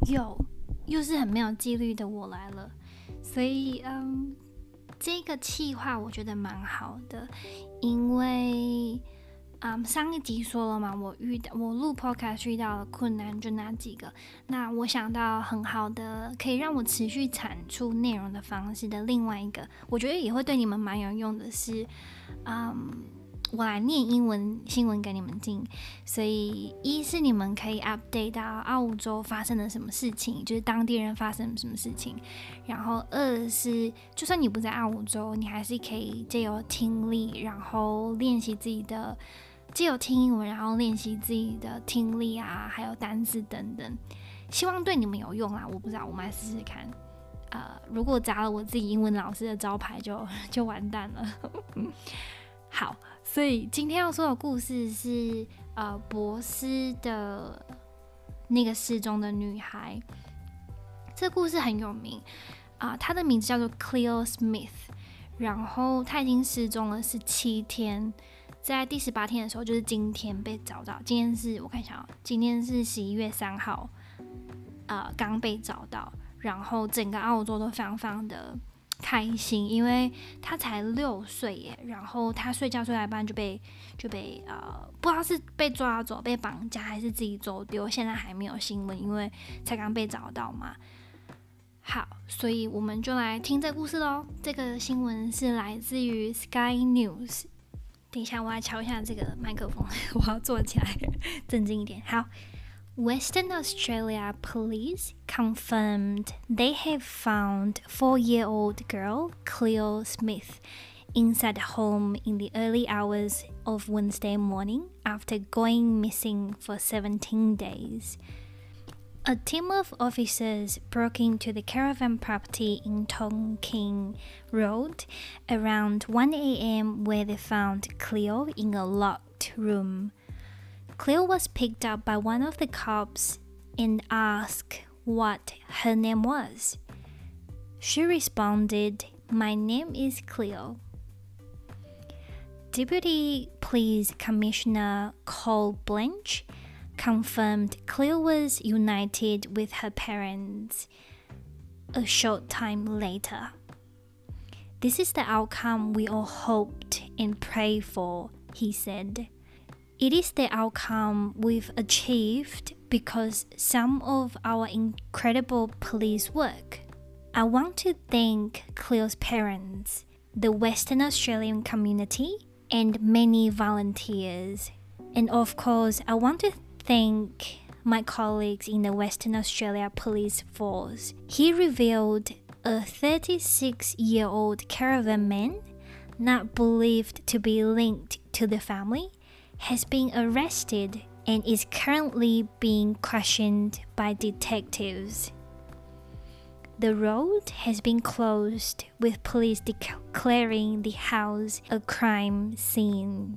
又是很没有纪律的我来了，所以这个企划我觉得蛮好的，因为上一集说了嘛，我录 podcast 遇到的困难就那几个，那我想到很好的可以让我持续产出内容的方式的另外一个，我觉得也会对你们蛮有用的是，我来念英文新闻给你们听，所以一是你们可以 update 到澳洲发生了什么事情，就是当地人发生了什么事情，然后二是就算你不在澳洲，你还是可以借由听力，然后练习自己的，借由听英文，然后练习自己的听力啊，还有单字等等，希望对你们有用啦，我不知道，我们来试试看。如果砸了我自己英文老师的招牌就完蛋了。好，所以今天要说的故事是博斯的那个失踪的女孩。这个故事很有名她的名字叫做 Cleo Smith， 然后她已经失踪了17天，在第18天的时候，就是今天被找到。今天是我看一下今天是11月3号，刚被找到。然后整个澳洲都非常非常的开心，因为他才6岁耶，然后他睡觉睡到一半就被不知道是被抓走、被绑架还是自己走丢，现在还没有新闻，因为才刚被找到嘛。好，所以我们就来听这个故事咯。这个新闻是来自于 Sky News。等一下，我来瞧一下这个麦克风，我要坐起来，镇静一点。好。Western Australia police confirmed they have found 4-year-old girl Cleo Smith inside a home in the early hours of Wednesday morning after going missing for 17 days. A team of officers broke into the caravan property in Tonkin Road around 1 a.m. where they found Cleo in a locked room. Cleo was picked up by one of the cops and asked what her name was. She responded, "My name is Cleo." Deputy Police Commissioner Cole Blanche confirmed Cleo was united with her parents a short time later. "This is the outcome we all hoped and prayed for," he said. "It is the outcome we've achieved because some of our incredible police work. I want to thank Cleo's parents, the Western Australian community, and many volunteers. And of course, I want to thank my colleagues in the Western Australia Police Force." He revealed a 36-year-old caravan man, not believed to be linked to the family, has been arrested and is currently being questioned by detectives. The road has been closed, with police declaring the house a crime scene.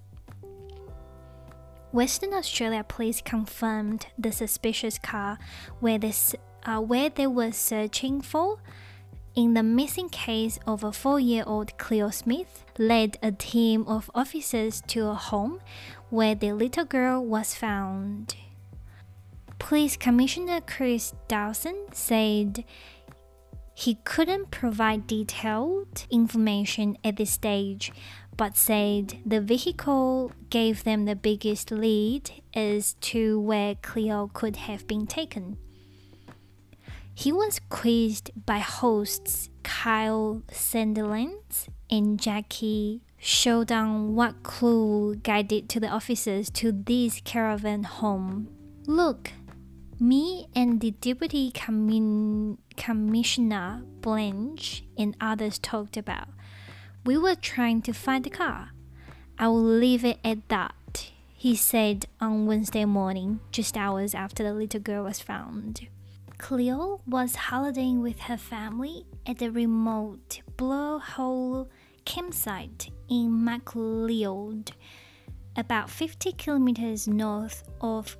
Western Australia Police confirmed the suspicious car where they were searching for in the missing case of a 4-year-old Cleo Smith, led a team of officers to a home where the little girl was found. Police Commissioner Chris Dawson said he couldn't provide detailed information at this stage, but said the vehicle gave them the biggest lead as to where Cleo could have been taken. He was quizzed by hosts Kyle Sandilands and Jackie showed on what clue guided to the officers to this caravan home. "Look, me and the Deputy Commissioner Blanche and others talked about. We were trying to find the car. I will leave it at that," he said on Wednesday morning, just hours after the little girl was found. Cleo was holidaying with her family at a remote blowhole campsite in Macleod, about 50 kilometers north of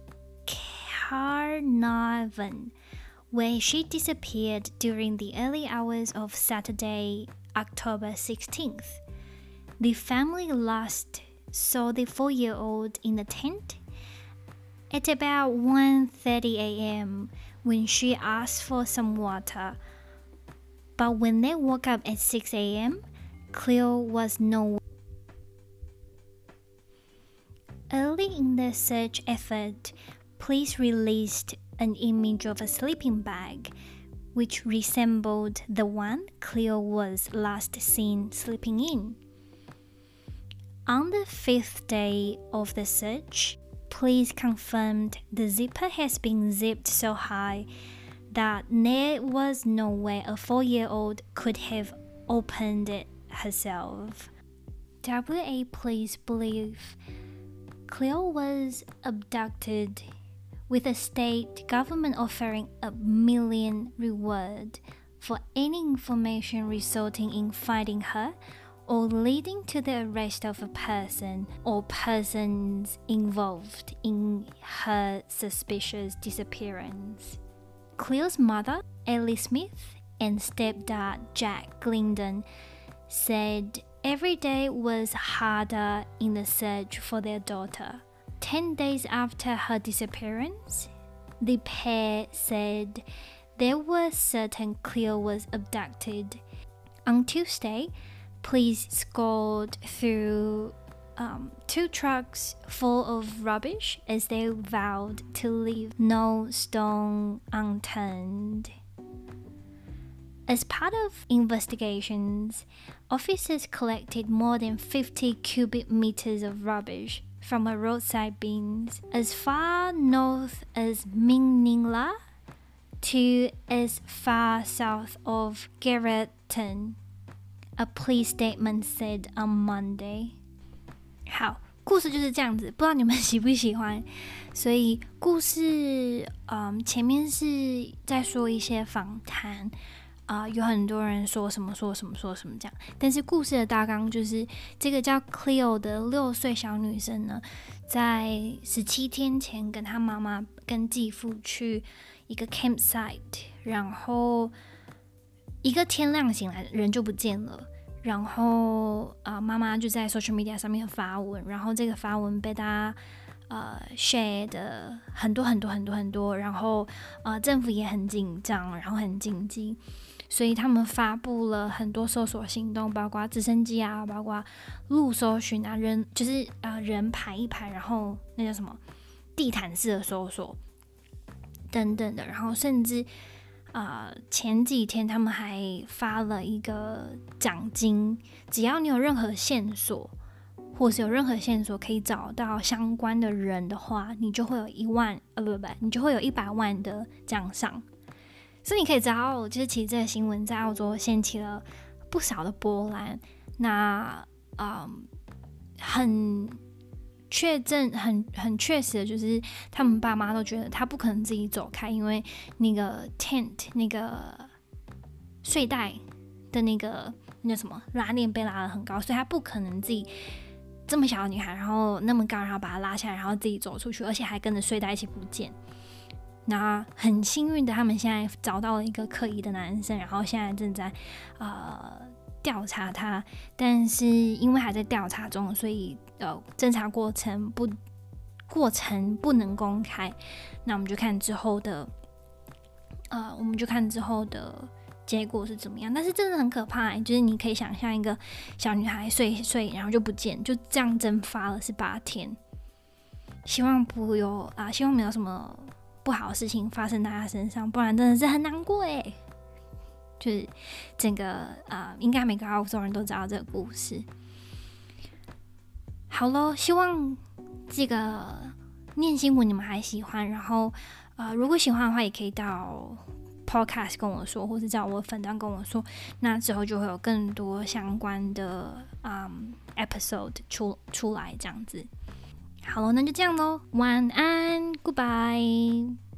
Carnarvon, where she disappeared during the early hours of Saturday, October 16th. The family last saw the 4-year-old in a tent at about 1:30 a.m. when she asked for some water. But when they woke up at 6 a.m., Cleo was nowhere. Early in the search effort, police released an image of a sleeping bag, which resembled the one Cleo was last seen sleeping in. On the 5th day of the search, police confirmed the zipper has been zipped so high that there was no way a 4-year-old could have opened it herself. WA police believe Cleo was abducted, with the state government offering $1 million reward for any information resulting in finding her or leading to the arrest of a person or persons involved in her suspicious disappearance. Cleo's mother, Ellie Smith, and stepdad, Jack Glendon, said every day was harder in the search for their daughter. 10 days after her disappearance, the pair said they were certain Cleo was abducted. On Tuesday, police scoured through 2 trucks full of rubbish as they vowed to leave no stone unturned. As part of investigations, officers collected more than 50 cubic meters of rubbish from a roadside bins as far north as Mingningla to as far south of Gerritton, a police statement said on Monday. 好，故事就是这样子，不知道你们喜不喜欢。所以故事，前面是在说一些访谈。有很多人说什么这样，但是故事的大纲就是这个叫 Cleo 的6岁小女生呢，在17天前跟她妈妈跟继父去一个 campsite， 然后一个天亮醒来人就不见了，然后妈妈就在 social media 上面发文，然后这个发文被大家share 的很多，然后政府也很紧张，然后很紧急。所以他们发布了很多搜索行动，包括直升机啊，包括路搜寻啊，人就是人排一排，然后那叫什么地毯式的搜索等等的，然后甚至前几天他们还发了一个奖金，只要你有任何线索，或是有任何线索可以找到相关的人的话，你就会有你就会有100万的奖赏。所以你可以知道，就是其实这个新闻在澳洲掀起了不少的波澜。那很确实的，就是他们爸妈都觉得他不可能自己走开，因为那个 tent 那个睡袋的那什么拉链被拉得很高，所以他不可能自己这么小的女孩，然后那么高，然后把她拉下来，然后自己走出去，而且还跟着睡袋一起不见。那很幸运的，他们现在找到了一个可疑的男生，然后现在正在调查他，但是因为还在调查中，所以侦查过程不能公开。那我们就看之后的结果是怎么样。但是真的很可怕，就是你可以想象一个小女孩睡然后就不见，就这样蒸发了18天。希望没有什么不好的事情发生在他身上，不然真的是很难过耶。就是整个应该每个澳洲人都知道这个故事。好咯，希望这个念新闻你们还喜欢，然后如果喜欢的话，也可以到 podcast 跟我说，或是在我的粉专跟我说，那之后就会有更多相关的episode 出来这样子。好了，那就这样咯，晚安 ，Goodbye。